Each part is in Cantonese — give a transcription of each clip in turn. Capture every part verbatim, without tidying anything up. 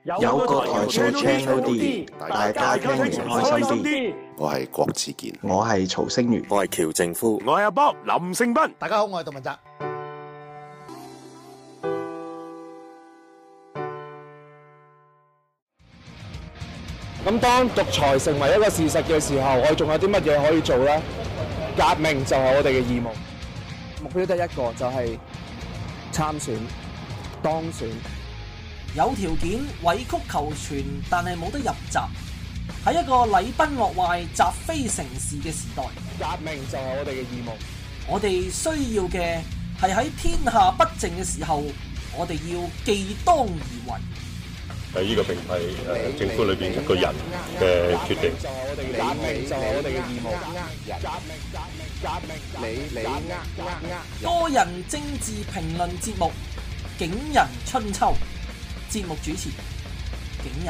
有個台做 channel D， 大家聽完開心啲。 我係郭子健， 我係曹星如， 我係喬正夫， 我係阿波林勝斌。 大家好，我係杜文澤。 咁當獨裁成為一個事實嘅時候，我哋仲有啲乜嘢可以做呢？革命就係我哋嘅義務，目標得一個，就係參選當選。 有條件委曲求全，但係冇得入閘。喺一個禮崩樂壞、習非成是嘅時代， 革命就係我哋嘅義務。 我哋需要嘅係喺天下不正嘅時候，我哋要既當而為。 誒，呢個並唔係誒政府裏邊一個人嘅決定。 革命就係我哋嘅義務。革命革命革命，你你呃呃呃。 多人政治評論節目《景仁春秋》，節目主持景仁。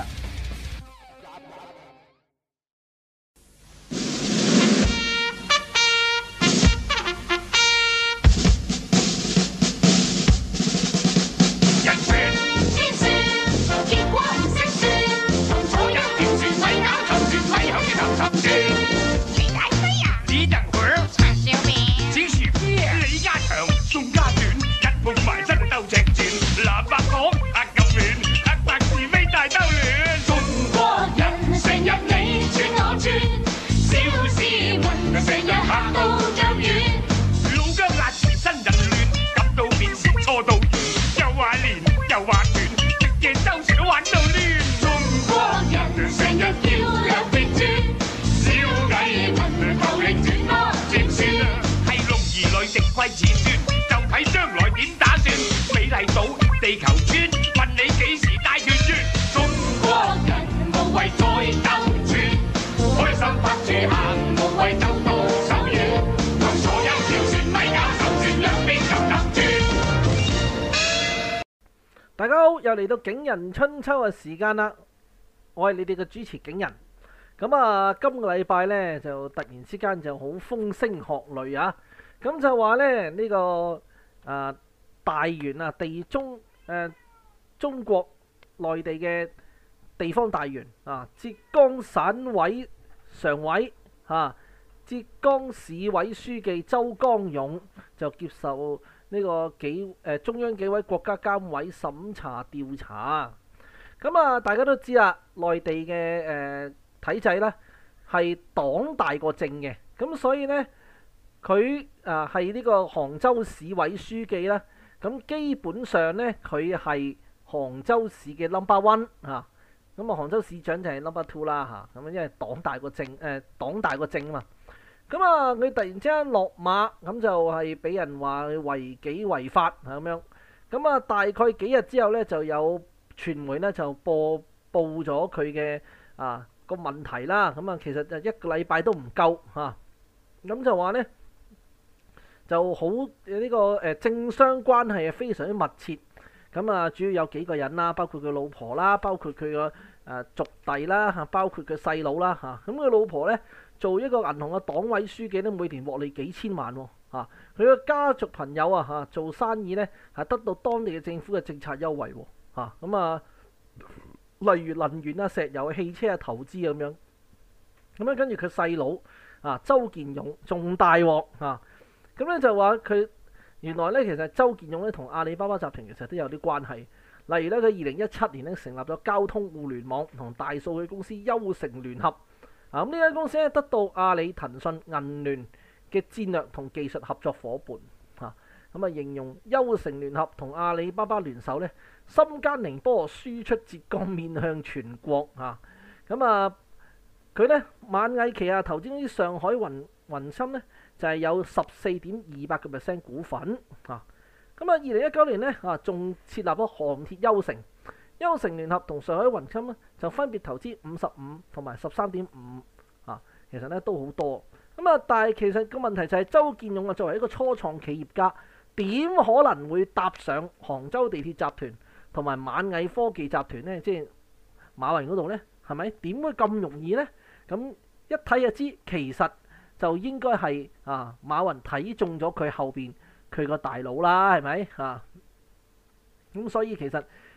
大家好，又嚟到景仁春秋嘅時間啦！我係你哋嘅主持景仁。咁啊，今個禮拜呢，就突然之間就好風聲鶴唳啊！咁就話咧呢、這個啊、呃、大員啊地中誒、呃、中國內地嘅地方大員啊，浙江省委常委啊，浙江市委書記周江勇就接受呢個紀誒、呃、中央紀委國家監委審查調查。咁啊，大家都知啦，內地嘅誒、呃、體制咧係黨大過政嘅，咁所以咧佢啊係呢個杭州市委書記啦。咁基本上咧佢係杭州市嘅 number one 嚇，咁啊杭州市長就係 number two 啦嚇，咁因為黨大過政誒、呃、黨大過政啊嘛。咁啊，佢突然之間落馬，咁就係俾人話違紀違法咁樣。咁啊，大概幾日之後咧，就有傳媒咧就播報咗佢嘅啊個問題啦。咁啊，其實就一個禮拜都唔夠嚇。咁、啊、就話咧就好呢、這個誒、呃、政商關係係非常之密切。咁啊，主要有幾個人啦，包括佢老婆啦，包括佢個誒族弟啦嚇，包括佢細佬啦嚇。咁、啊、佢老婆咧，做一個銀行嘅黨委書記咧，每年獲利幾千萬喎嚇。佢嘅家族朋友啊嚇，做生意咧係得到當地嘅政府嘅政策優惠喎嚇。咁啊，例如能源啊、石油、汽車啊、投資咁樣。咁樣跟住佢細佬啊，周建勇仲大鑊嚇。咁咧就話佢原來咧其實周建勇咧同阿里巴巴集團其實都有啲關係。例如咧，佢二零一七年咧成立咗交通互聯網同大數據公司優成聯合。啊！咁呢間公司咧得到阿里、騰訊、銀聯嘅戰略同技術合作伙伴嚇，咁啊形容優成聯合同阿里巴巴聯手咧，深耕寧波，輸出浙江，面向全國嚇。咁啊，佢咧螞蟻旗下投資公司上海雲雲深咧就係、是、有十四點二八個 percent 股份嚇。咁啊，二零一九年咧啊，仲設立咗航鐵優成。優成聯合同上海雲深咧就分別投資五十五同埋十三點五啊，其實咧都好多咁啊。但係其實個問題就係周建勇啊，作為一個初創企業家，點可能會搭上杭州地鐵集團同埋螞蟻科技集團咧？即係馬雲嗰度咧，係咪點會咁容易咧？咁一睇就知，其實就應該係啊馬雲睇中咗佢後邊佢個大佬啦，係咪啊？咁所以其實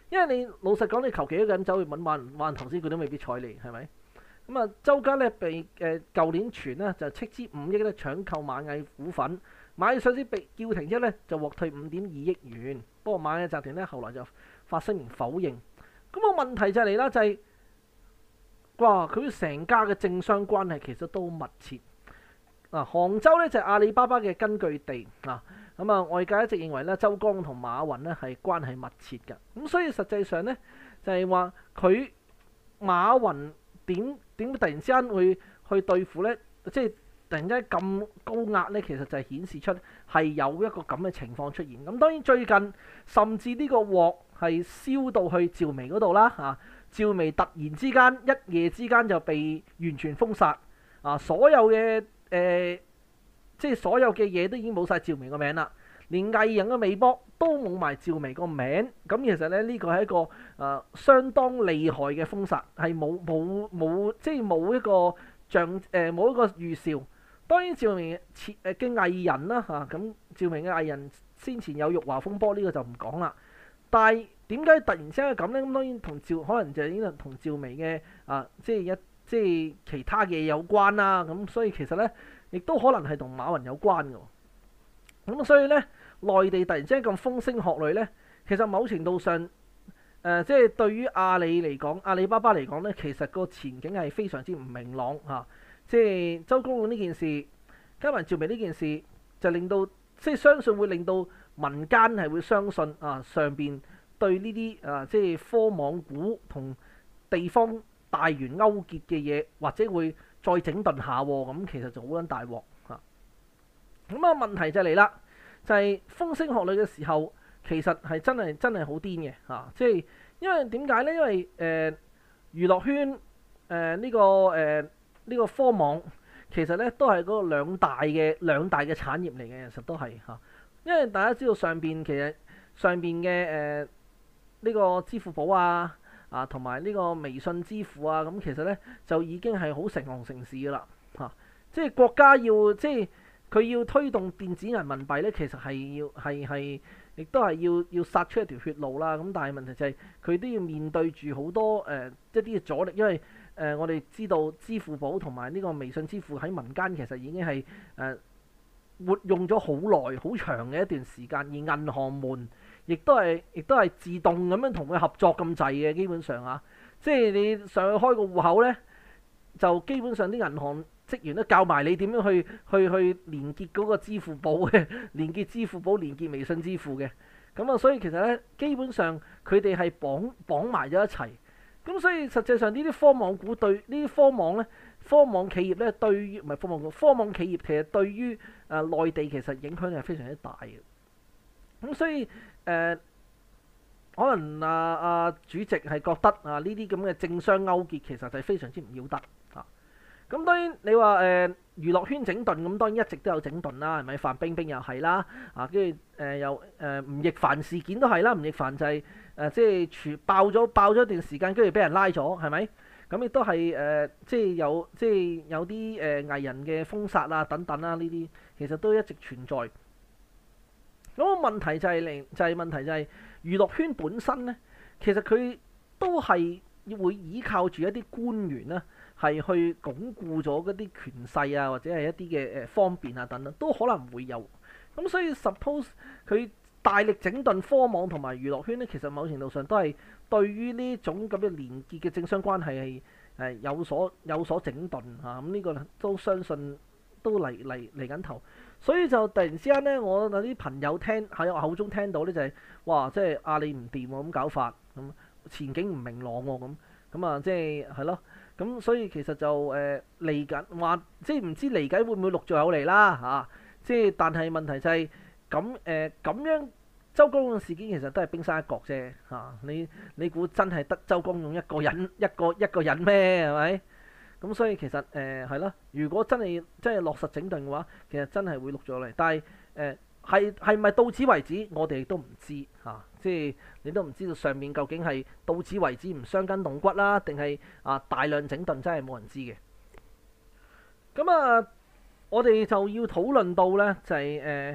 因為你老實講，你求其一個人走去揾萬萬投資，佢都未必睬你，係咪？咁啊，周家咧被誒舊年傳咧就斥資五億咧搶購螞蟻股份，螞蟻上市被叫停之後咧就獲退五點二億元。不過螞蟻集團咧後來就發聲明否認。咁個問題就嚟啦，就係、是、哇，佢成家嘅政商關係其實都密切。啊，杭州咧就係、是、阿里巴巴嘅根據地啊。咁啊，外界一直認為咧周江同馬雲咧係關係密切嘅。咁所以實際上咧就係話佢馬雲點點突然之間會去對付咧，即係突然之間咁高壓咧，其實就係顯示出係有一個咁嘅情況出現。咁當然最近甚至呢個鑊係燒到去趙薇嗰度啦，啊，趙薇突然之間一夜之間就被完全封殺，啊，所有嘅誒、呃，即係所有嘅嘢都已經冇晒趙薇個名啦，連藝人嘅微博都冇埋趙薇個名。咁其實咧呢個係一個誒、呃、相當厲害嘅封殺，係冇冇冇即係冇一個像誒冇一個預兆。當然趙薇誒嘅藝人啦嚇，咁趙薇嘅藝人先前有辱華風波呢、這個就唔講啦。但係點解突然之間咁咧？咁當然同趙可能就係呢個同趙薇嘅啊，即係一即係其他嘅嘢有關啦。咁所以其實咧，亦都可能係同馬雲有關嘅。咁所以咧，內地突然之間咁風聲鶴唳咧，其實某程度上誒、呃，即係對於阿里嚟講，阿里巴巴嚟講咧，其實個前景係非常之唔明朗嚇、啊。即係周公館呢件事，加埋趙薇呢件事，就令到即係相信會令到民間係會相信啊，上邊對呢啲啊即係科網股同地方大員勾結嘅嘢，或者會再整頓下喎，咁其實就好撚大鑊嚇。咁啊問題就嚟啦，就係、是、風聲鶴唳嘅時候，其實係真係真係好癲嘅嚇，即係因為點解咧？因為誒、呃、娛樂圈誒呢、呃這個誒。呃呢個科網其實咧都係嗰個兩大嘅兩大嘅產業嚟嘅，其實都係嚇。因為大家知道上邊其實上邊嘅誒呢個支付寶啊啊同埋呢個微信支付啊，咁其實咧就已經係好成行成市噶啦嚇。即係國家要即係佢要推動電子人民幣咧，其實係要係係亦都係要要殺出一條血路啦。咁但係問題就係佢都要面對住好多誒、呃、一啲嘅阻力，因為誒、呃，我哋知道支付寶同埋呢個微信支付喺民間其實已經係誒、呃、活用咗好耐、好長嘅一段時間，而銀行們亦都係亦都係自動咁樣同佢合作咁滯嘅，基本上啊，即係你上去開個戶口咧，就基本上啲銀行職員都教埋你點樣去去去連結嗰個支付寶嘅，連結支付寶、連結微信支付嘅，咁啊，所以其實咧，基本上佢哋係綁綁埋咗一齊。咁所以實際上呢啲科網股對呢啲科網咧，科網企業咧對於唔係科網股，科網企業其實對於誒、呃、內地其實影響係非常之大嘅。咁所以誒、呃，可能啊啊主席係覺得啊呢啲咁嘅政商勾結其實就係非常之唔要得啊。咁當然你話誒、呃、娛樂圈整頓，咁當然一直都有整頓啦，係咪？范冰冰又係啦，啊跟住誒又誒吳亦凡事件都係啦，吳亦凡就係、是。誒、呃、即係傳爆咗爆咗一段時間，跟住俾人拉咗，係咪？咁亦都係誒、呃，即係有即係有啲誒、呃、藝人嘅封殺啊等等啦、啊，呢啲其實都一直存在。咁、那個問題就係、是、嚟，就係、是、問題就係娛樂圈本身咧，其實佢都係會依靠住一啲官員咧，係去鞏固咗嗰啲權勢啊，或者係一啲嘅誒方便啊等等，都可能會有。咁所以 suppose 佢大力整頓科網同埋娛樂圈咧，其實某程度上都係對於呢種咁嘅連結嘅政商關係係誒有所有所整頓嚇，咁、啊、呢、這個都相信都嚟嚟嚟緊頭，所以就突然之間咧，我有啲朋友聽喺我口中聽到咧就係、是、哇，即係阿里唔掂喎，咁搞法咁前景唔明朗喎，咁咁啊即係係咯，咁所以其實就誒嚟緊話，即係唔知嚟緊會唔會陸續有嚟啦嚇，即係但係問題就係咁誒咁樣。周公勇事件其實都係冰山一角啫嚇、啊，你你估真係得周公勇一個人一個一個人咩係咪？咁所以其實誒係咯，如果真係真係落實整頓嘅話，其實真係會錄咗嚟。但係誒係係咪到此為止，我哋亦都唔知嚇、啊，即係你都唔知道上面究竟係到此為止唔傷筋動骨啦，定係啊大量整頓真係冇人知嘅。咁啊，我哋就要討論到咧就係、是、誒。呃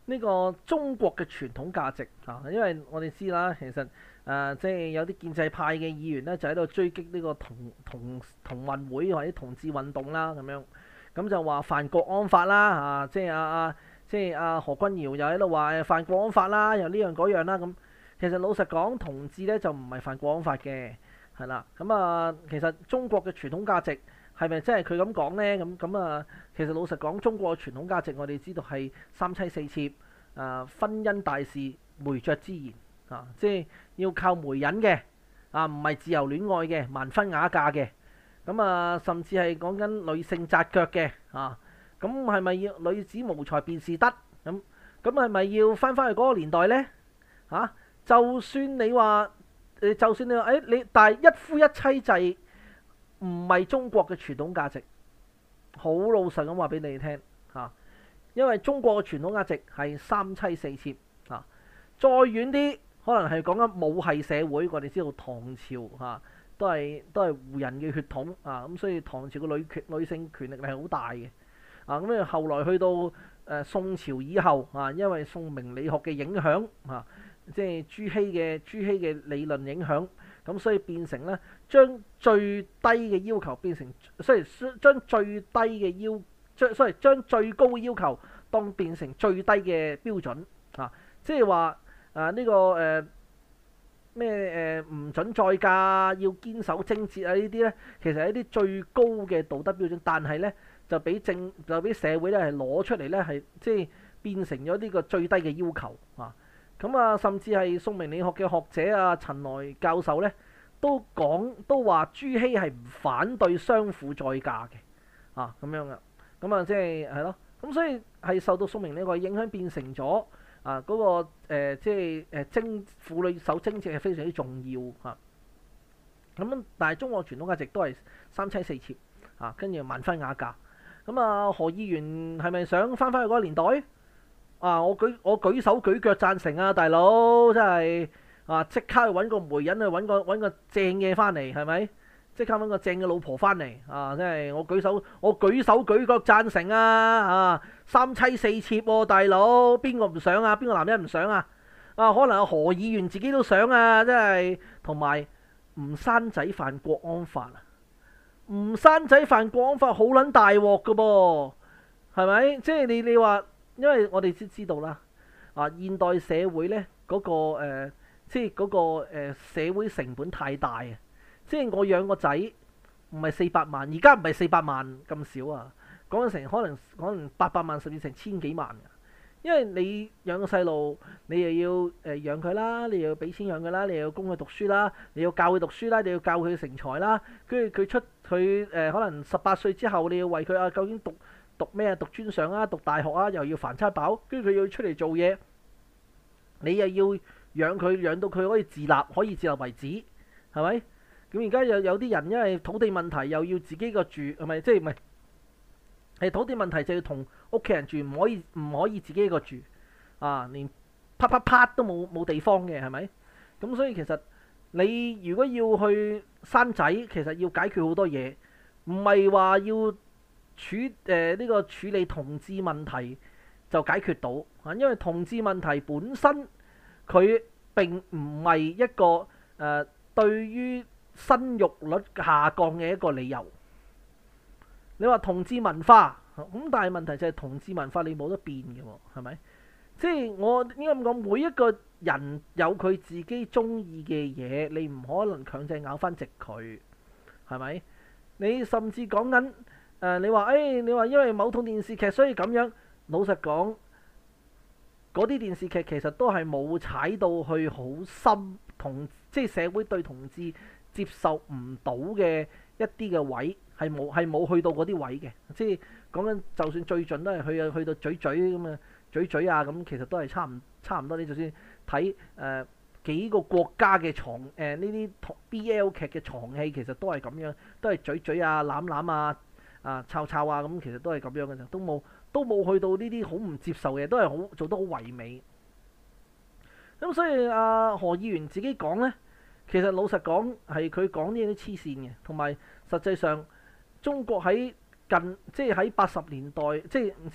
呢個中國嘅傳統價值啊，因為我哋知啦，其實誒、呃、即係有啲建制派嘅議員咧，就喺度追擊呢個同同同運會或者同志運動啦，咁樣咁就話犯國安法啦，啊，即係阿阿即係阿何君堯又喺度話誒犯國安法啦，又呢樣嗰樣啦，咁其實老實講，同志咧就唔係犯國安法嘅，係啦，咁啊，其實中國嘅傳統價值。係咪真係佢咁講呢？咁咁啊，其實老實講，中國嘅傳統價值我哋知道係三妻四妾，啊婚姻大事媒妁之言啊，即係要靠媒人嘅啊，唔係自由戀愛嘅，盲婚啞嫁嘅。咁啊，甚至係講緊女性紮腳嘅啊。咁係咪要女子無才便是德？咁咁係咪要翻返去嗰個年代呢？嚇、啊，就算你話誒，就算你話誒、哎，你但係一夫一妻制。唔係中國嘅傳統價值，好老實咁話俾你聽嚇，因為中國嘅傳統價值係三妻四妾嚇，再遠啲可能係講緊母系社會，我哋知道唐朝嚇都係都係胡人嘅血統啊，咁所以唐朝嘅女權女性權力係好大嘅啊，咁啊後來去到誒、呃、宋朝以後啊，因為宋明理學嘅影響啊，即係朱熹嘅朱熹嘅理論影響。咁所以變成咧，將最低嘅要求變成，所以將最低嘅要，將所以將最高嘅要求當變成最低嘅標準啊！即係話啊呢、這個誒咩誒唔準再嫁，要堅守貞節啊呢啲咧，其實係一啲最高嘅道德標準，但係咧就俾政就俾社會咧係攞出嚟咧係即係變成咗呢個最低嘅要求啊！咁啊，甚至係宋明理學嘅學者啊，陳來教授咧，都講都話朱熹係唔反對相婦再嫁嘅，啊咁樣嘅，咁啊即係係咯，咁所以係受到宋明理學影響，變成咗啊嗰、那個、呃、即係誒貞婦女守貞節係非常之重要嚇。咁、啊、但係中國傳統價值都係三妻四妾啊，跟住盲婚啞嫁。咁啊，何議員係咪想翻返去嗰個年代？啊！我舉我舉手舉腳贊成啊，大佬真係啊！即刻去揾個媒人去揾個揾個正嘅翻嚟，係咪？即刻揾個正嘅老婆翻嚟啊！真係我舉手我舉手舉腳贊成啊！啊，三妻四妾喎，大佬邊個唔想啊？邊個男人唔想啊？啊，可能阿何議員自己都想啊！真係同埋唔生仔犯國安法啊！唔生仔犯國安法好撚大鑊噶噃，係咪？即係你你話。因為我哋先知道啦，啊現代社會咧嗰、那個、呃、即係嗰、那個、呃、社會成本太大啊！即係我養個仔唔係四百萬，而家唔係四百萬咁少啊，講緊成可能可能八百萬甚至成千幾萬嘅。因為你養個細路，你又要誒養佢啦，你又要俾錢養佢啦，你又要供佢讀書啦，你要教佢讀書啦，你要教佢成才啦，跟住佢出佢誒、呃、可能十八歲之後，你要為佢啊究竟讀。讀咩啊？讀專上啊？讀大學啊？又要凡差飽，跟住佢要出嚟做嘢，你又要養佢，養到佢可以自立，可以自立為止，係咪？咁而家又有啲人因為土地問題，又要自己個住，係咪？即係唔係？係土地問題就要同屋企人住，唔可以唔可以自己一個住啊？連啪啪啪都冇冇地方嘅，係咪？咁所以其實你如果要去生仔，其實要解決好多嘢，唔係話要。處誒呢、呃這個處理同志問題就解決到啊，因為同志問題本身佢並唔係一個誒、呃、對於生育率下降嘅一個理由。你話同志文化咁，但係問題就係同志文化你冇得變嘅喎，係咪？即係我應該咁講，每一個人有佢自己中意嘅嘢，你唔可能強制咬翻直佢，係咪？你甚至講緊。誒、呃，你話誒、哎，你話因為某套電視劇所以咁樣，老實講，嗰啲電視劇其實都係冇踩到去好深同，即係社會對同志接受唔到嘅一啲嘅位，係冇係冇去到嗰啲位嘅。即係講緊，就算最盡都係去去到嘴嘴咁啊，嘴嘴啊咁，其實都係差唔差唔多。你就算睇誒、呃、幾個國家嘅床誒呢啲 B L 劇嘅床戲，其實都係咁樣，都係嘴嘴啊、攬攬啊。啊，抄抄啊，咁其實都係咁樣嘅啫，都冇都冇去到呢啲好唔接受嘅，都係好做得好唯美。咁所以阿、啊、何議員自己講呢，其實老實講係佢講啲嘢都黐線嘅，同埋實際上中國喺近即係喺八十年代，即係唔知七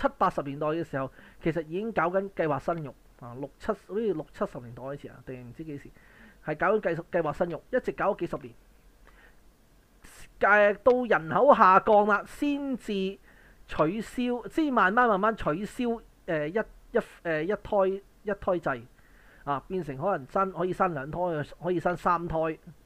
七八十年代嘅時候，其實已經搞緊計劃生育啊，六七好似六七十年代開始啊，定唔知幾時係搞緊計計劃生育，一直搞咗幾十年。誒到人口下降啦，先至取消，先慢慢慢慢取消誒、呃、一一誒、呃、一胎一胎制啊，變成可能生可以生兩胎，可以生三胎。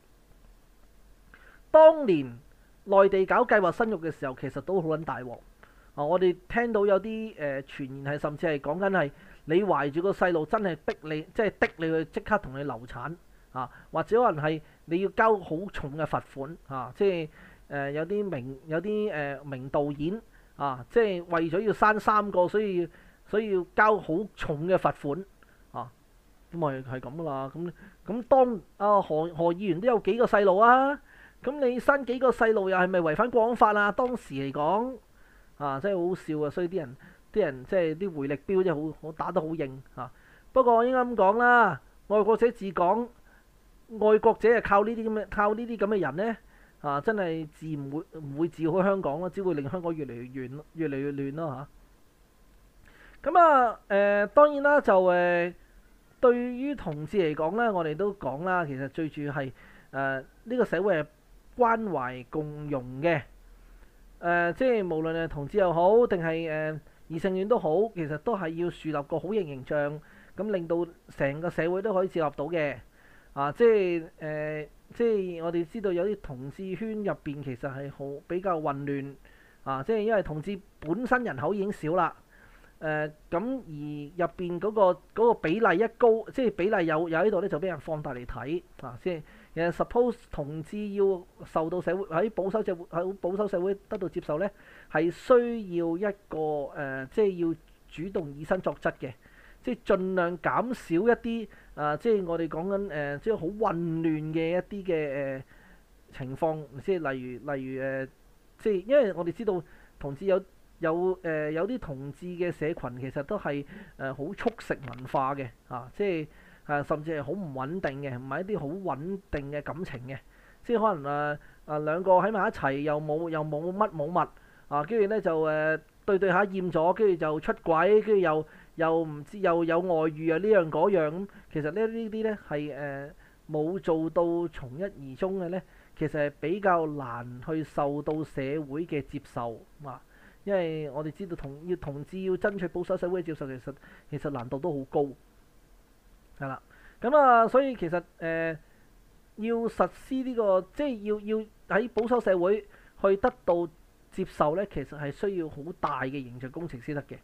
當年內地搞計劃生育嘅時候，其實都好撚大鑊啊！我哋聽到有啲誒、呃、傳言係甚至係講緊係你懷住個細路，真係逼你，即係逼你去即刻同你流產啊，或者可能係你要交好重嘅罰款啊，即係。誒、呃、有啲名有啲誒、呃、名導演啊，即係為咗要生三個，所以所以要交好重嘅罰款啊，咁咪係咁噶啦。咁咁當啊何何議員都有幾個細路啊，咁你生幾個細路又係咪違反國安法啊？當時嚟講啊，真係好笑啊！所以啲人啲人即係啲回力鏢真係好好打得好硬啊。不過我應該咁講啦，愛國者治港，愛國者係靠呢啲咁嘅靠呢啲咁嘅人咧。啊！真係治唔會唔會治好香港咯，只會令香港越嚟越亂，越嚟越亂咯嚇。咁啊誒、呃，當然啦，就誒、呃、對於同志嚟講咧，我哋都講啦，其實最主要係誒呢個社會係關懷共融嘅。誒、呃，即係無論係同志又好，定係誒異性戀都好，其實都係要樹立個好型形象，咁令到成個社會都可以接納到嘅。啊，即係誒。呃即係我哋知道有啲同志圈入邊其實係好比較混亂啊！即係因為同志本身人口已經少啦，誒、呃、咁而入邊嗰個嗰個比例一高，即係比例有有喺度咧，就俾人放大嚟睇啊！即係其實 suppose 同志要受到社會喺保守社會喺保守社會得到接受咧，係需要一個誒、呃，即係要主動以身作則嘅。即係盡量減少一啲啊、呃！即係我哋講緊誒，即係好混亂嘅一啲嘅誒情況，即係例如例如誒、呃，即係因為我哋知道同志有有誒、呃、有啲同志嘅社群其實都係誒好速食文化嘅啊！即係啊，甚至係好唔穩定嘅，唔係一啲好穩定嘅感情嘅，即係可能啊啊兩個喺埋一齊又冇又冇乜冇物啊，跟住咧就誒、呃、對對下厭咗，跟住就出軌，跟住又。又唔知又有外遇啊，呢樣嗰樣咁，其實咧呢啲咧係誒冇做到從一而終嘅咧，其實係比較難去受到社會嘅接受啊，因為我哋知道同要同志要爭取保守社會嘅接受，其實其實難度都好高，係啦，咁啊，所以其實誒、呃、要實施呢、這個即係要要喺保守社會去得到接受咧，其實係需要好大嘅形象工程先得嘅。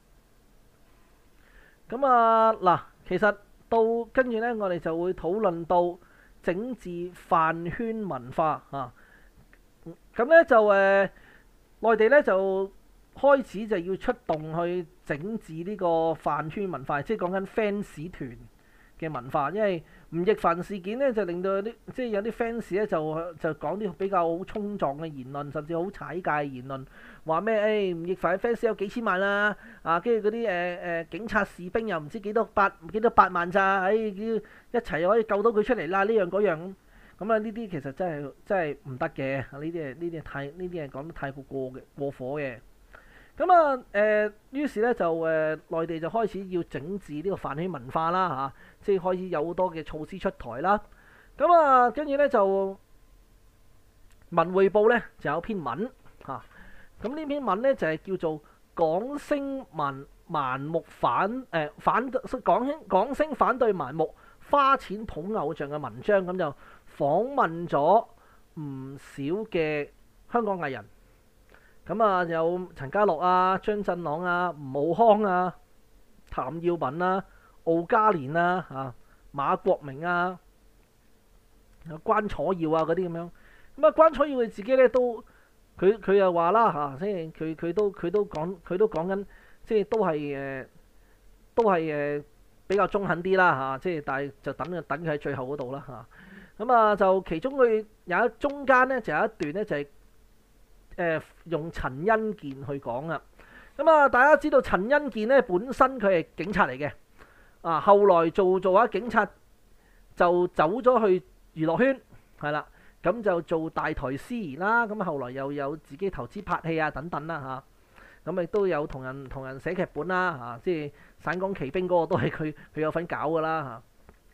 咁啊嗱，其實到跟住咧，我哋就會討論到整治飯圈文化啊。咁咧就誒、呃，內地咧就開始就要出動去整治呢個飯圈文化，即係講緊 fans 團嘅文化。因為吳亦凡事件咧，就令到有啲即係有啲 fans 咧就就講啲比較好衝撞嘅言論，甚至好踩界嘅言論。話咩？誒、哎、吳亦凡嘅 fans 有幾千萬啦，啊，跟住嗰啲誒誒警察士兵又唔知幾多八幾多八萬咋？誒、哎，一齊可以救到佢出嚟啦！呢樣嗰樣咁，咁啊呢啲其實真係真係唔得嘅。呢啲係呢啲係太呢啲係講得太過過嘅過火嘅。咁啊誒，於是咧就誒、呃、內地就開始要整治呢個飯圈文化啦嚇、啊，即係開始有好多嘅措施出台啦。咁啊，跟住咧就《文匯報》咧就有篇文嚇。啊咁呢篇文咧就係、是、叫做港星盲盲目反誒、呃、反港星港星反對盲目花錢捧偶像嘅文章，咁就訪問咗唔少嘅香港藝人，咁啊有陳家樂啊、張振朗啊、吳浩康啊、譚耀文啊、敖嘉年啊、啊馬國明啊、關楚耀啊嗰啲咁樣，咁啊關楚耀佢自己咧都。佢佢又話啦嚇，即係佢佢都佢都講佢都講緊，即係都係誒、呃，都係誒、呃、比較中肯啲啦嚇，即係但係就等佢等佢喺最後嗰度啦嚇。咁啊就其中佢有一中間咧就有一段咧就係、是、誒、呃、用陳恩健去講啊。咁啊大家知道陳恩健咧本身佢係警察嚟嘅，啊後來做做下警察就走咗去娛樂圈，係啦。咁就做大台司儀啦，咁後來又有自己投資拍戲啊等等啦咁亦都有同人同人寫劇本啦嚇、啊，即係省港旗兵嗰個都係佢佢有份搞噶啦嚇。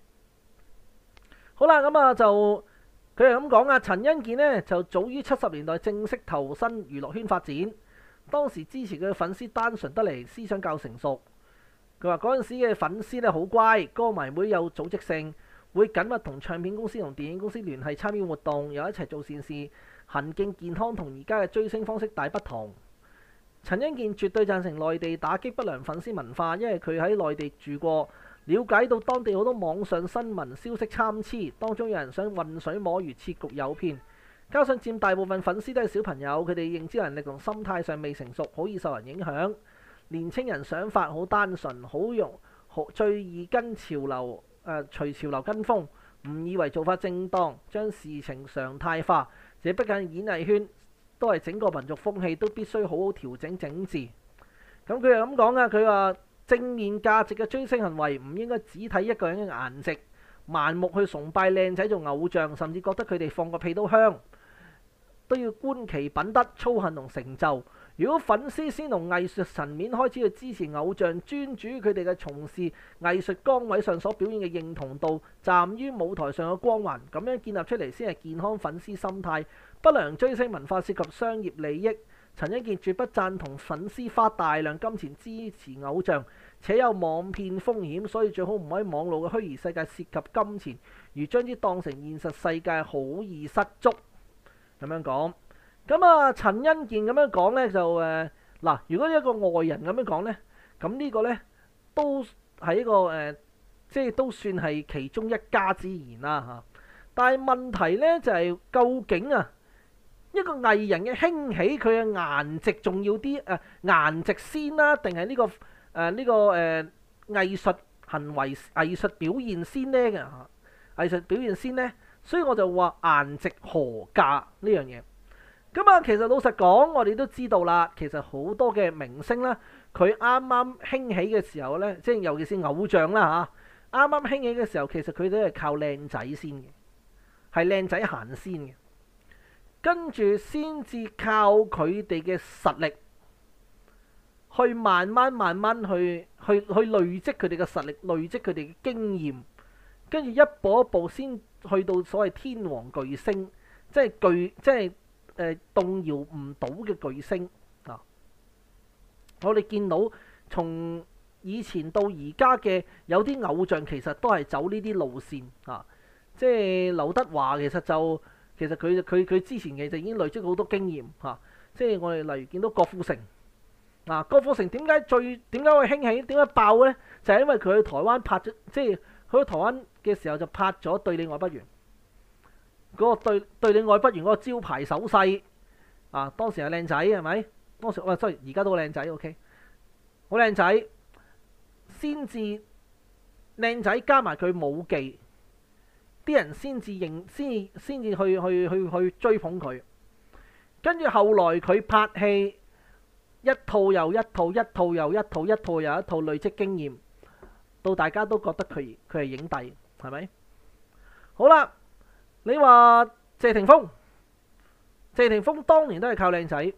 好啦，咁啊就佢係咁講啊，陳欣健呢就早於七十年代正式投身娛樂圈發展，當時支持佢嘅粉絲單純得嚟，思想較成熟。佢話嗰陣時嘅粉絲咧好乖，歌迷會有組織性，會緊密同唱片公司同電影公司聯繫參與活動，又一齊做善事，行徑健康，同而家嘅追星方式大不同。陳欣健絕對贊成內地打擊不良粉絲文化，因為佢喺內地住過，了解到當地好多網上新聞消息參差，當中有人想混水摸魚，設局誘騙，加上佔大部分粉絲都係小朋友，佢哋認知能力同心態上未成熟，好易受人影響。年青人想法好單純，好容好最易跟潮流誒、呃、隨潮流跟風，唔以為做法正當，將事情常態化。這不僅演藝圈，都係整個民族風氣都必須好好調整整治。咁佢又咁講啊，佢話正面價值嘅追星行為唔應該只睇一個人嘅顏值，盲目去崇拜靚仔做偶像，甚至覺得佢哋放個屁都香，都要觀其品德、操行同成就。如果粉絲先從藝術層面開始去支持偶像，專注佢哋嘅從事藝術崗位上所表現嘅認同度，站於舞台上嘅光環，咁樣建立出嚟先係健康粉絲心態。不良追星文化涉及商業利益，陳欣健絕不贊同粉絲花大量金錢支持偶像，且有網騙風險，所以最好唔可以網絡嘅虛擬世界涉及金錢，如將之當成現實世界，好易失足。咁樣講。咁啊，陳欣健咁樣講咧，就誒嗱、呃，如果一個外人咁樣講咧，咁呢個咧都係一個誒、呃，即係都算係其中一家之言啦嚇。但係問題咧就係、是，究竟啊一個藝人嘅興起，佢嘅顏值重要啲誒、呃、顏值先啦，定係呢個誒呢、呃這個誒、呃、藝術行為、藝術表現先咧嘅嚇？藝術表現先咧，所以我就話顏值何價呢樣嘢。咁啊，其實老實講，我哋都知道啦。其實好多嘅明星啦，佢啱啱興起嘅時候咧，即係尤其是偶像啦嚇，啱啱興起嘅時候，其實佢都係靠靚仔先嘅，係靚仔行先嘅，跟住先至靠佢哋嘅實力，去慢慢慢慢去去去累積佢哋嘅實力，累積佢哋嘅經驗，跟住一步一步先去到所謂天王巨星，即係巨即係。誒、呃、動搖唔到嘅巨星啊！我哋見到從以前到而家嘅有啲偶像，其實都係走呢啲路線啊！即係劉德華其實就其實佢佢佢之前其實已經累積好多經驗嚇、啊。即係我哋例如見到郭富城啊，郭富城點解最點解會興起？點解爆咧？就係、是、因為佢去台灣拍咗，即係佢去台灣嘅時候就拍咗《對你愛不完》。嗰個對對你愛不完嗰個招牌手勢啊，當時係靚仔係咪？當時我雖然而家都好靚仔 ，OK， 好靚仔，先至靚仔加埋佢武技，啲人先至認，先先至去去去去追捧佢。跟住後來佢拍戲一套又一套，一套又一套，一套又一套，累積經驗，到大家都覺得佢佢係影帝，係咪？好啦。你話謝霆鋒，謝霆鋒當年都係靠靚仔，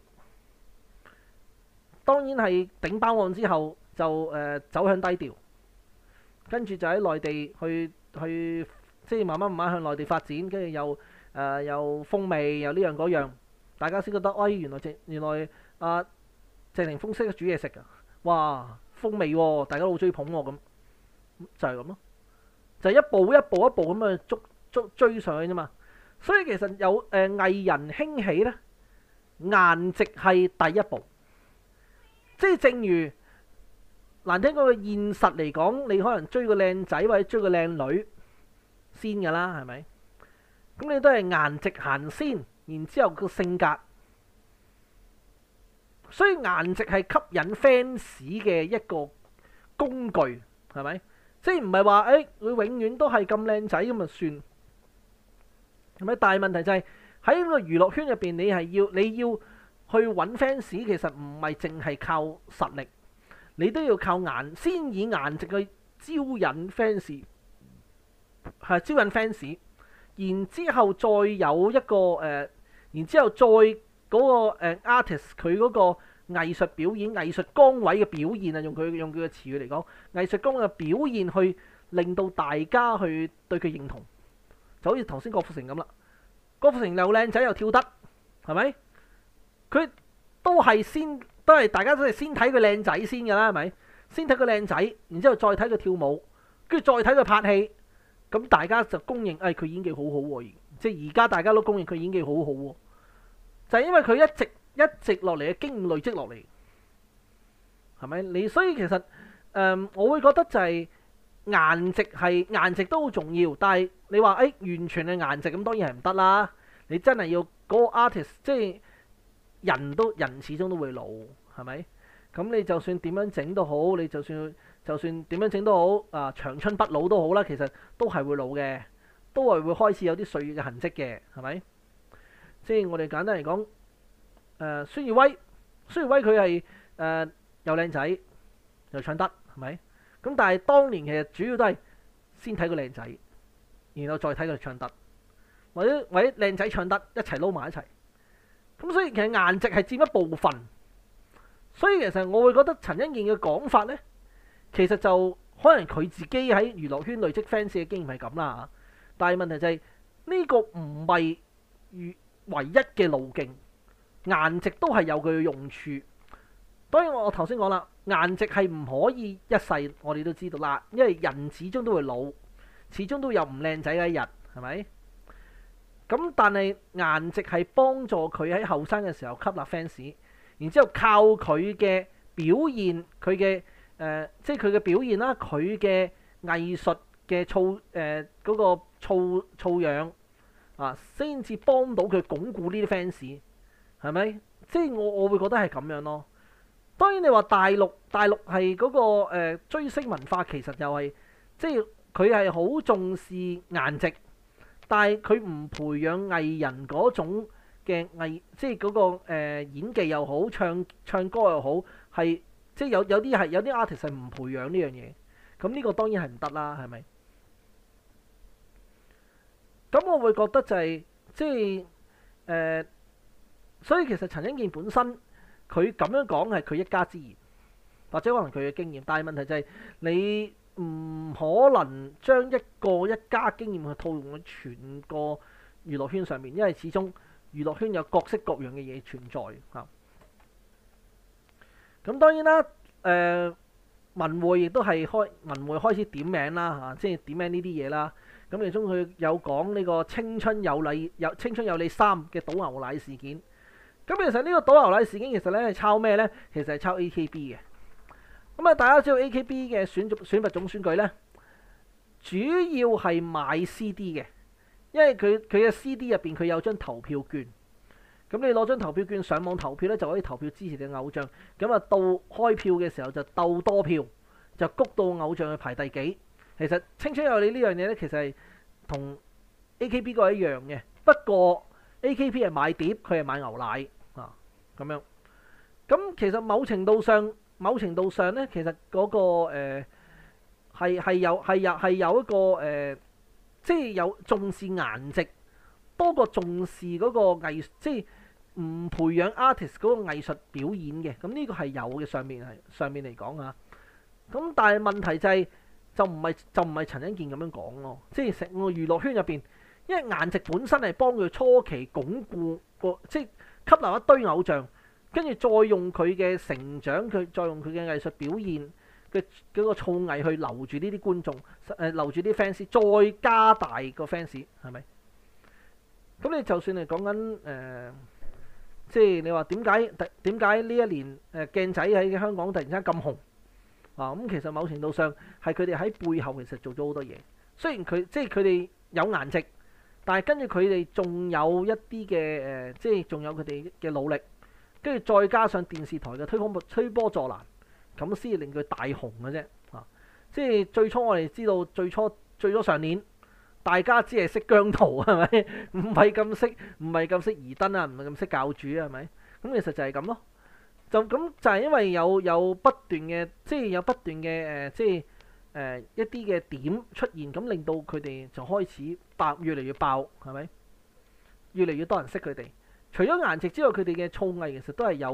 當然係頂包案之後就誒、呃、走向低調，跟住就喺內地去去即係慢慢慢慢向內地發展，跟住又誒、呃、又風味又呢樣嗰樣，大家先覺得，哎原來謝原來啊、呃、謝霆鋒識得煮嘢食㗎，哇風味喎、哦，大家都好追捧喎咁，就係咁咯，就係、一步一步一步咁去捉。追上去啫嘛，所以其實有誒、呃、藝人興起咧，顏值係第一步，即係正如難聽講嘅現實嚟講，你可能追個靚仔或者追個靚女先㗎啦，係咪？咁你都係顏值行先，然之後個性格，所以顏值係吸引 fans 嘅一個工具，係咪？即係唔係話誒佢永遠都係咁靚仔咁就算。係咪？但係問題就係喺呢個娛樂圈入邊，你係要你要去揾 fans，其實唔係淨係靠實力，你都要靠顏，先以顏值去招引 fans，係招引 fans，然之後再有一個誒、呃，然之後再嗰、那個誒、呃、artist 佢嗰個藝術表演、藝術崗位嘅表現啊，用佢用佢嘅詞語嚟講，藝術崗位嘅表現去令到大家去對佢認同，就好似頭先郭富城咁啦。郭富城又靚仔又跳得，係咪？佢都係先都係大家都係先睇佢靚仔先㗎啦，係咪？先睇佢靚仔，然之後再睇佢跳舞，跟住再睇佢拍戲，咁大家就公認誒佢演技好好喎，即係而家大家都公認佢演技好好喎，就係因為佢一直一直落嚟嘅經驗累積落嚟，係咪？你所以其實誒、呃，我會覺得就係顏值係顏值都好重要，但係你話誒、哎、完全係顏值咁當然係唔得啦，你真係要嗰個 artist 即係人都人始終都會老，係咪？咁你就算點樣整都好，你就算就算點樣整都好，啊長春不老都好啦，其實都係會老嘅，都係會開始有啲歲月嘅痕跡嘅，係咪？即係我哋簡單嚟講，誒、呃、孫耀威，孫耀威佢係誒又靚仔又唱得，係咪？咁但係當年其實主要都係先睇個靚仔，然後再睇佢唱得，或者或者靚仔唱得一齊撈埋一齊。咁所以其實顏值係佔一部分。所以其實我會覺得陳欣健嘅講法呢，其實就可能佢自己喺娛樂圈累積 fans 嘅經驗係咁啦。但係問題就係、是、呢、這個唔係唯一嘅路徑，顏值都係有佢嘅用處。當然我頭先講啦，顏值係唔可以一世，我哋都知道啦，因為人始終都會老，始終都有唔靚仔嘅一日，係咪？咁但係顏值係幫助佢喺後生嘅時候吸納 fans。然之後靠佢嘅表現，佢嘅誒，即係佢嘅表現啦，佢嘅藝術嘅素誒嗰個素素養啊，先至幫到佢鞏固呢啲 fans，係咪？即係我我會覺得係咁樣咯。當然你話大陸大陸係嗰個誒追星文化，其實又係即係佢係好重視顏值，但係佢唔培養藝人嗰種嘅藝，即係嗰個誒演技又好，唱唱歌又好，係即係有有啲係有啲 artist 係唔培養呢樣嘢，咁呢個當然係唔得啦，係咪？咁我會覺得就係即係誒，所以其實陳欣健本身佢咁樣講係佢一家之言，或者可能佢嘅經驗，但係問題就係你唔可能將一個一家經驗去套用喺全個娛樂圈上面，因為始終娛樂圈有各式各樣嘅嘢存在嚇。咁當然啦，誒、呃、文匯亦都係開文匯開始點名啦嚇、啊，即係點名呢啲嘢啦。咁其中佢有講呢個青春有你有青春有你三嘅倒牛奶事件。咁其實呢個倒牛奶事件其實咧係抄咩咧？其實係抄 A K B 嘅。咁啊，大家知道 A K B 嘅選選拔總選舉咧，主要係買 C D 嘅，因為佢佢嘅 C D 入邊佢有張投票券。咁你攞張投票券上網投票咧，就可以投票支持你嘅偶像。咁啊，到開票嘅時候就鬥多票，就谷到偶像去排第幾。其實青春有你呢樣嘢咧，其實係同 A K B 個一樣嘅，不過 A K B 係買碟，佢係買牛奶啊咁樣。咁其實某程度上，某程度上咧，其實嗰、那個誒係係有係有係有一個誒、呃，即係有重視顏值多過重視嗰個藝，即係唔培養 artist 嗰個藝術表演嘅。咁呢個係有嘅，上面係上面嚟講啊。咁但係問題就係、是。就唔係就唔係陳欣健咁樣講咯，即係成個娛樂圈入邊，因為顏值本身係幫佢初期鞏固個，即係吸納一堆偶像，跟住再用佢嘅成長，佢再用佢嘅藝術表現嘅嗰個造詣去留住呢啲觀眾，誒、呃、留住啲 fans，再加大個 fans，係咪？咁你就算係講緊誒，即係你話點解點解呢一年誒鏡仔喺香港突然之間咁紅？啊，咁其實某程度上係佢哋喺背後其實做咗好多嘢。雖然佢即係佢哋有顏值，但係跟住佢哋仲有一啲嘅誒，即係仲有佢哋嘅努力，跟住再加上電視台嘅推波推波助瀾，咁先至令佢大紅嘅啫。啊，即係最初我哋知道最初最初上年大家只係識姜濤係咪？唔係咁識，唔係咁識疑燈啊，唔係咁識教主啊，係咪？咁其實就係咁咯。就咁就係因為有有不斷嘅，即係有不斷嘅誒，即係誒、呃、一啲嘅點出現，咁令到佢哋就開始爆，越嚟越爆，係咪？越嚟越多人識佢哋。除咗顏值之外，佢哋嘅造詣其實都係有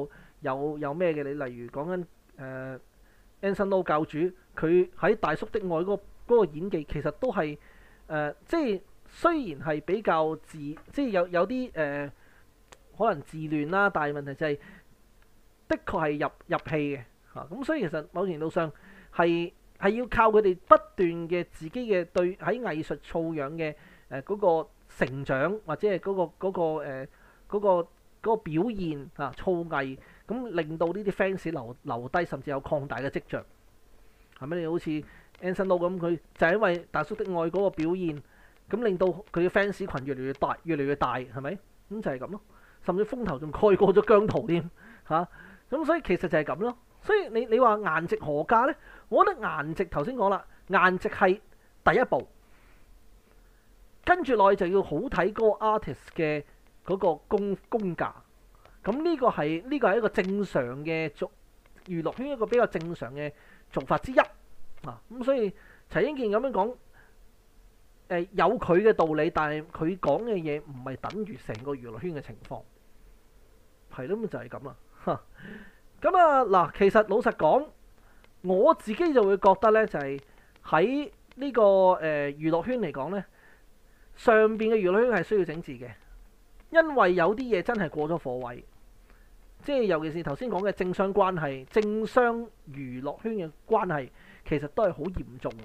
有有咩嘅？你例如講緊誒 Anson Lo 教主，佢喺《大叔的愛》嗰、嗰個嗰個演技，其實都係誒、呃，即係雖然係比較自，即係有有啲誒、呃、可能自亂啦，但係問題就係、是、的確係入入戲嘅嚇。咁、啊、所以其實某程度上係係要靠佢哋不斷嘅自己嘅對喺藝術素養嘅誒嗰個成長，或者係嗰、嗰個嗰、嗰個誒嗰、呃嗰個嗰個表現啊，造詣咁令到呢啲 fans 留留低，甚至有擴大嘅跡象，係咪？你好似 Anson Lo 咁，佢就係因為大叔的愛嗰個表現，咁令到佢嘅 fans 群越嚟越大，越嚟越大，係咪？咁就係咁咯。甚至風頭仲蓋過咗姜濤添嚇，咁、啊、所以其實就係咁咯。所以你你話顏值何價咧？我覺得顏值頭先講啦，顏值係第一步，跟住落去就要好睇嗰個 artist 嘅嗰個功功架。咁呢個係呢、呢個係一個正常嘅做娛樂圈一個比較正常嘅做法之一啊。咁所以陳英健咁樣講，誒、呃、有佢嘅道理，但係佢講嘅嘢唔係等於成個娛樂圈嘅情況，係咯，咁就係咁啦。咁啊嗱，其實老實講，我自己就會覺得咧，就係喺呢個誒、呃、娛樂圈嚟講咧，上邊嘅娛樂圈係需要整治嘅，因為有啲嘢真係過咗火位。即係尤其是頭先講嘅政商關係、政商娛樂圈嘅關係，其實都係好嚴重。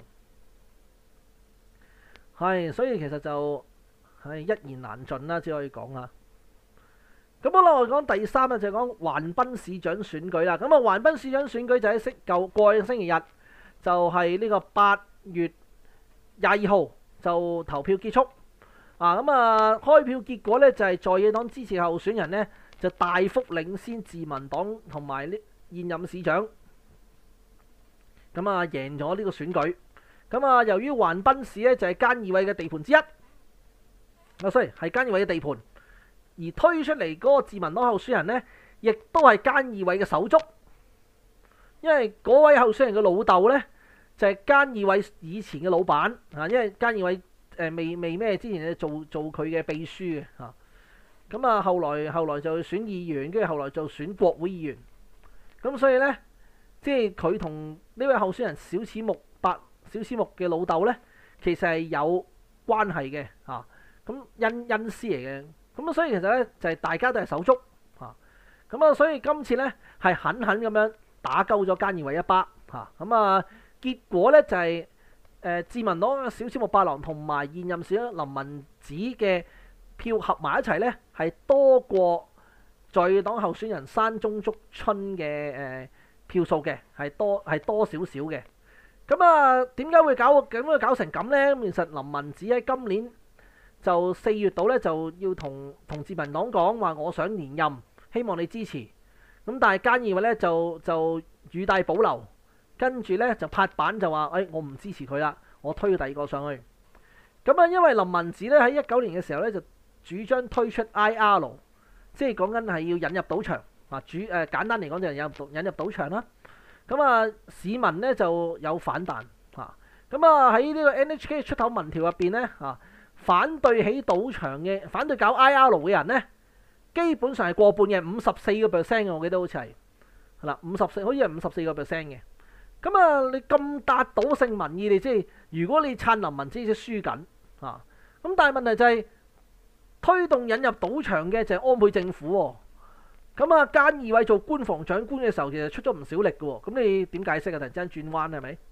係，所以其實就係一言難盡啦，只可以講啦。咁好啦，我講第三咧就係講橫濱市長選舉啦。咁啊，橫濱市長選舉就喺星舊過去星期日，就係呢個八月廿二號就投票結束。啊，咁啊，開票結果咧就係在野黨支持候選人咧，就大幅領先自民黨同埋呢現任市長，咁啊贏咗呢個選舉。咁啊，由於橫濱市咧就係菅義偉嘅地盤之一，啊，sorry係菅義偉嘅地盤，而推出嚟嗰個自民黨候選人咧，亦都係菅義偉嘅手足，因為嗰位候選人嘅老豆咧就係菅義偉以前嘅老闆啊，因為菅義偉誒未未咩之前咧做做佢嘅秘書嘅嚇。咁啊，後來後來就選議員，跟住後來就選國會議員。咁所以咧，即係佢同呢位候選人小此木白小此木嘅老豆咧，其實係有關係嘅嚇。咁恩恩師嚟嘅。咁啊，所以其實咧就係、是、大家都係手足嚇。咁啊，所以今次咧係狠狠咁樣打鳩咗菅義偉一巴嚇。咁啊，結果咧就係、是、誒、呃、自民黨嘅小此木八郎同埋現任市長林文子嘅票合埋一齊咧，係多過在野黨候選人山中竹春嘅誒、呃、票數嘅，係多係多少少嘅。咁啊，點解會搞咁樣搞成咁咧？咁其實林文子喺今年就四月度咧，就要同同自民黨講話，我想連任，希望你支持。咁但係菅義偉咧就就語帶保留，跟住咧就拍板就話：誒、哎，我唔支持佢啦，我推第二個上去。咁啊，因為林文子咧喺一九年嘅時候咧就主張推出 I R， 即係講緊係要引入賭場啊！主誒、呃、簡單嚟講就係引入引入賭場啦。咁啊，市民咧就有反彈嚇。咁啊喺呢個 N H K 出頭民調入邊咧嚇，反對起賭場嘅、反對搞 I R 嘅人咧，基本上係過半嘅，五十四個 percent 嘅，我記得好似係係啦，五十四好似係五十四個 percent 嘅。咁啊，你咁達到性民意，你即係如果你撐林文子，就輸緊啊。咁但係問題就係、是。推動引入賭場嘅就係安倍政府喎，咁啊菅義偉做官房長官嘅時候，其實出咗唔少力嘅喎，咁你點解釋啊？突然之間轉彎係咪？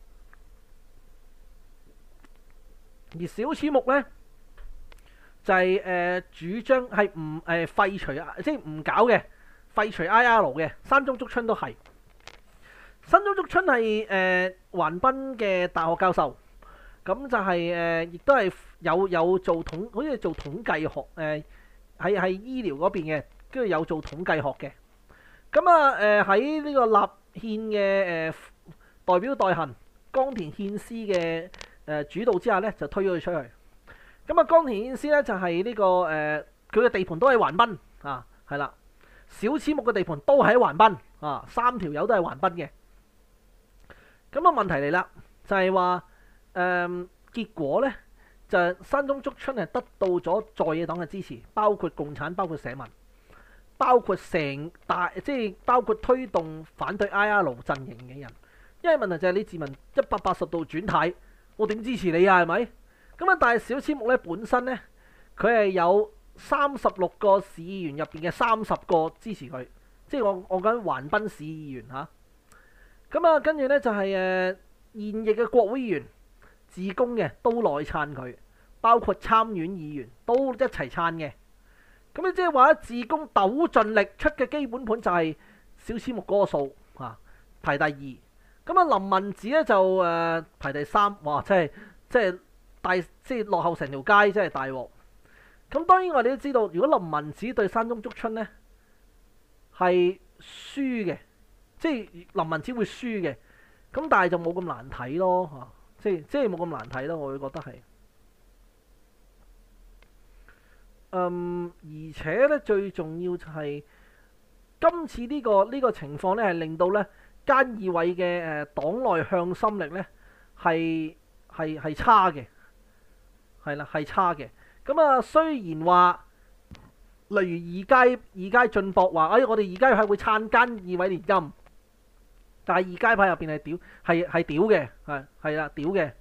而小此木咧就係、是、誒、呃、主張係唔誒廢除啊，即係唔搞嘅，廢除 I R 嘅，山中竹春都係。山中竹春係誒橫濱嘅大學教授。咁就係、是、誒，亦、呃、都係有有做統，好似做統計學誒，喺喺醫療嗰邊嘅，跟住有做統計學嘅。咁啊誒喺呢個立憲嘅誒代表代行岡田憲司嘅誒、呃、主導之下咧，就推咗佢出去。咁啊岡田憲司咧就係、是、呢、這個誒，佢、呃、嘅地盤都喺橫濱啊，係啦，小此木嘅地盤都喺橫濱啊，三條友都係橫濱嘅。咁啊問題嚟啦，就係、是、話。誒、嗯、結果咧就係、山中竹春係得到咗在野黨嘅支持，包括共產，包括社民。 包括成大即係包括推動反對 I R 陣營嘅人，因為問題就係你自民一百八十度轉軚，我點支持你啊？係咪？咁啊，但係小千木咧本身咧，佢係有三十六個市議員入邊嘅三十個支持佢，即係我我講橫濱市議員嚇。咁啊，跟住咧就係、是、誒、呃、現役嘅國會議員自公嘅都來撐佢，包括參院議員都一齊撐嘅。咁你即係話咧，自公鬥盡力出嘅基本盤就係小千木嗰個數嚇，排第二。咁啊，林文子咧就誒、呃、排第三，哇！即係即係大即係落後成條街，真係大鑊。咁當然我哋都知道，如果林文子對山中竹春咧係輸嘅，即係林文子會輸嘅。咁但係就冇咁難睇咯嚇，即係即係冇咁難睇咯，我會覺得係。嗯，而且咧最重要就係今次呢、這個呢、這個情況咧，係令到咧菅義偉嘅誒黨內向心力咧係係係差嘅，係啦係差嘅。咁啊，雖然話例如二階二階進博話，哎，我哋二階派會撐菅義偉連任，但係二階派入邊係屌係係屌嘅，係係啦屌嘅。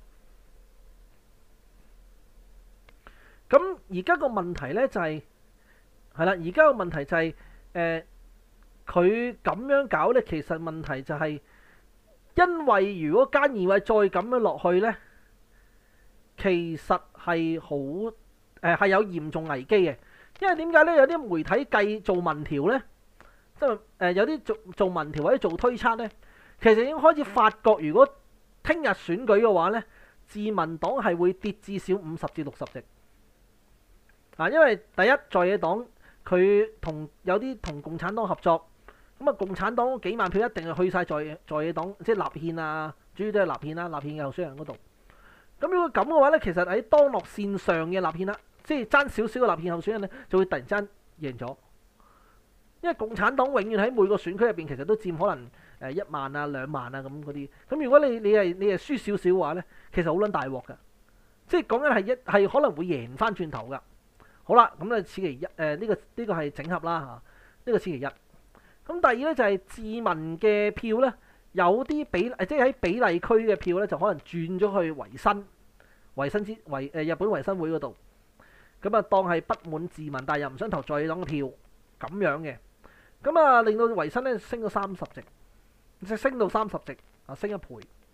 咁而家個問題咧就係係啦，而家個問題就係誒佢咁樣搞咧，其實問題就係因為如果菅義偉再咁樣落去咧，其實係好誒係有嚴重危機嘅，因為點解咧？有啲媒體計做民調咧，即係誒有啲做做民調或者做推測咧，其實已經開始發覺，如果聽日選舉嘅話咧，自民黨係會跌至少五十至六十席。啊，因為第一在野黨佢同有啲同共產黨合作，咁啊共產黨幾萬票一定係去晒在在野黨，即係立憲啊，主要都係立憲啦，立憲嘅候選人嗰度。咁如果咁嘅話咧，其實喺當落線上嘅立憲啦，即係爭少少嘅立憲候選人咧，就會突然之間贏咗。因為共產黨永遠喺每個選區入邊，其實都佔可能誒一萬啊、兩萬啊咁嗰啲。咁如果你你係你係輸少少嘅話咧，其實好撚大鑊㗎，即係講緊係一係可能會贏翻轉頭㗎。好啦，咁咧此其一，誒、呃、呢、這個呢、這個係整合啦嚇，呢、這個此其一。咁第二咧就係、是、自民嘅票咧，有啲比即係喺比例區嘅票咧，就可能轉咗去維新、維新之維誒日本維新會嗰度。咁啊，當係不滿自民，但係又唔想投在野黨嘅票咁樣嘅。咁啊，令到維新咧升咗三十席，即係升到三十席啊，升一倍。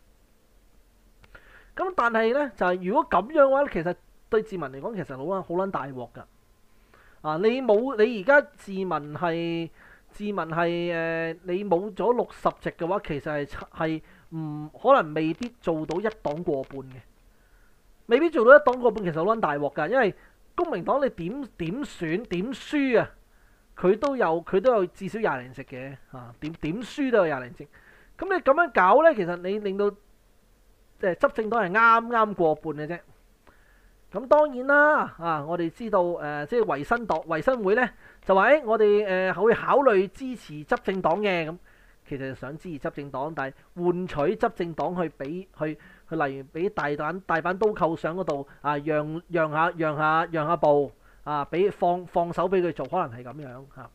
咁但係咧就係、是、如果咁樣嘅話，其實對自民嚟講，其實好撚好撚大鑊㗎。啊，你冇你而家自民係自民係誒、呃，你冇咗六十席嘅話，其實係係唔可能未必做到一黨過半嘅，未必做到一黨過半，其實好撚大鑊㗎。因為公民黨你點點選點輸啊，佢都有佢都有至少廿零席嘅嚇，點點輸都有廿零席。咁你咁樣搞咧，其實你令到即係執政黨係啱啱過半嘅啫。咁當然啦，啊，我哋知道誒、呃，即係維新黨、維新會咧，就話誒、欸，我哋誒、呃、會考慮支持執政黨嘅，咁其實想支持執政黨，但係換取執政黨去俾去去，例如俾大膽大板刀扣上嗰度啊，讓讓下讓下讓下步啊，俾放放手俾佢做，可能係咁樣嚇。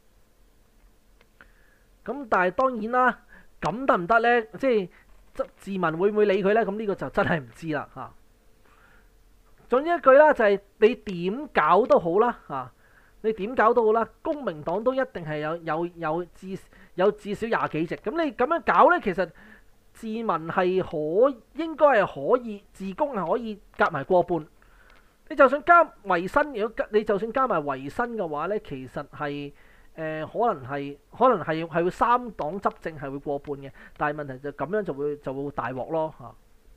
咁、啊、但係當然啦，咁得唔得咧？即係執自民會唔會理佢咧？咁呢個就真係唔知啦嚇。啊總之一句啦，就係你點搞都好啦嚇，你點搞都好啦，公民黨都一定係有有有至有至少廿幾席。咁你咁樣搞咧，其實自民係可應該係可以，自公係可以夾埋過半。你就算加維新，如果你就算加埋維新嘅話咧，其實係誒、呃、可能係可能係係會三黨執政係會過半嘅，但係問題就咁樣就會就會大鑊咯嚇。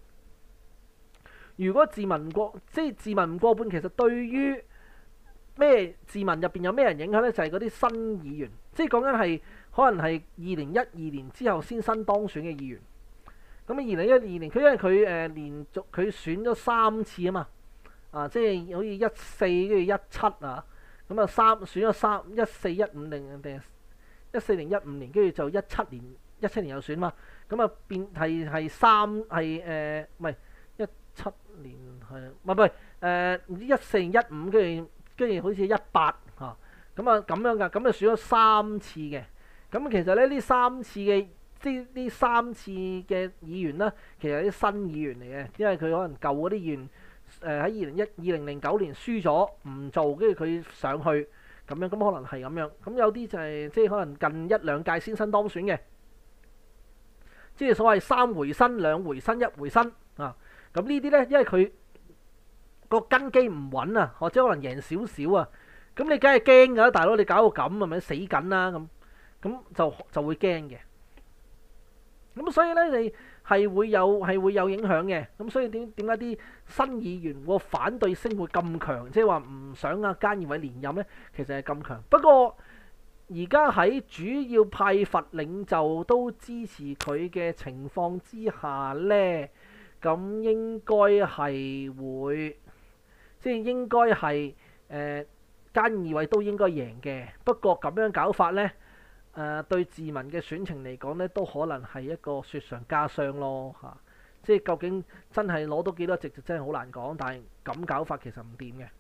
如果自民過，即係自民唔過半，其實對於咩自民入邊有咩人影響咧？就係嗰啲新議員，即係講緊係可能係二零一二年之後先新當選嘅議員。咁啊，二零一二年佢因為佢誒、呃、連續佢選咗三次啊嘛，啊即係好似一四跟住一七啊，咁啊三選咗三一四一五定定一四零一五年，跟住就一七年一七年又選嘛，咁啊變係係三係誒唔係一七年係，唔係唔係誒唔知一四一五，跟住跟住好似一八嚇， 咁啊咁樣㗎，咁就選咗三次嘅。咁其實咧呢三次嘅即呢三次嘅議員啦，其實係啲新議員嚟嘅，因為佢可能舊嗰啲議員誒喺二零一二零零九年輸咗唔做，跟住佢上去咁樣，咁可能係咁樣。咁有啲就係、是、即係可能近一兩屆先新當選嘅，即係所謂三回新、兩回新、一回新啊。咁呢啲咧，因為佢個根基唔穩啊，或者可能贏少少啊，咁你梗係驚㗎啦，大佬你搞到咁係咪死緊啦咁？咁就就會驚嘅。咁所以咧，你係會有係會有影響嘅。咁所以點點解啲新議員個反對聲會咁強？即係話唔想阿菅義偉連任咧，其實係咁強。不過而家喺主要派閥領袖都支持佢嘅情況之下咧，咁應該係會，即係應該係誒菅義偉都應該贏嘅。不過咁樣搞法咧，誒、呃、對自民嘅選情嚟講咧，都可能係一個雪上加霜咯嚇、啊。即係究竟真係攞到幾多席就真係好難講，但係咁搞法其實唔掂嘅。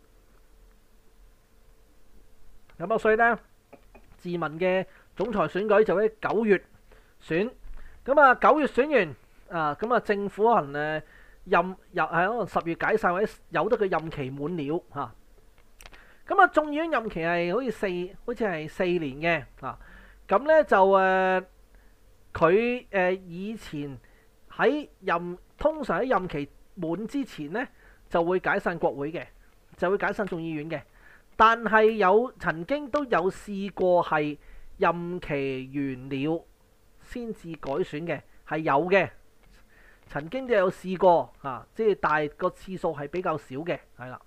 咁啊，所以咧，自民嘅總裁選舉就喺九月選。咁啊，九月選完。啊，咁啊，政府可能誒任又係可能十月解散，或者由得佢任期滿了嚇。咁啊，眾議院任期係好似四，好似係四年嘅啊。咁咧就誒，佢、呃、誒以前喺任通常喺任期滿之前咧，就會解散國會嘅，就會解散眾議院嘅。但係有曾經都有試過係任期完了先至改選嘅，係有嘅。曾經都有試過嚇、啊，即係但係個次數係比較少嘅，係啦，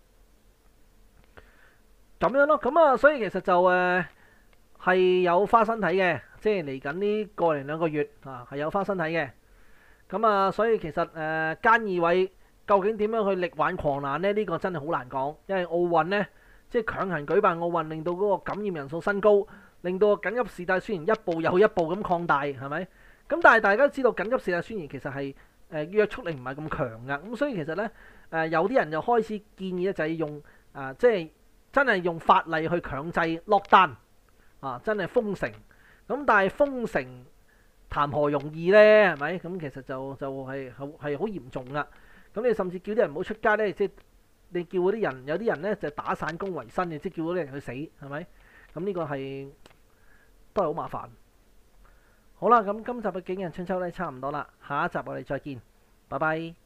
咁樣咯。咁啊，所以其實就誒係、呃、有花生睇嘅，即係嚟緊呢個零兩個月啊，係有花生睇嘅。咁啊，所以其實誒菅義偉究竟點樣去力挽狂瀾呢？呢、呢個真係好難講，因為奧運呢，即係強行舉辦奧運，令到嗰個感染人數升高，令到緊急事態宣言一步又一步咁擴大，係咪？咁但係大家都知道緊急事態宣言其實係誒、呃、約束力唔係咁強㗎，咁所以其實咧誒、呃、有啲人就開始建議咧就係用啊、呃、即係真係用法例去強制落單啊，真係封城。咁但係封城談何容易咧？係咪？咁其實就就係好係好嚴重㗎。咁你甚至叫啲人唔好出街咧，即係你叫嗰啲人有啲人咧就打散工為生嘅，即係叫嗰啲人去死，係咪？咁呢個係都係好麻煩。好啦，咁今集嘅景人春秋咧差唔多啦，下一集我哋再見，拜拜。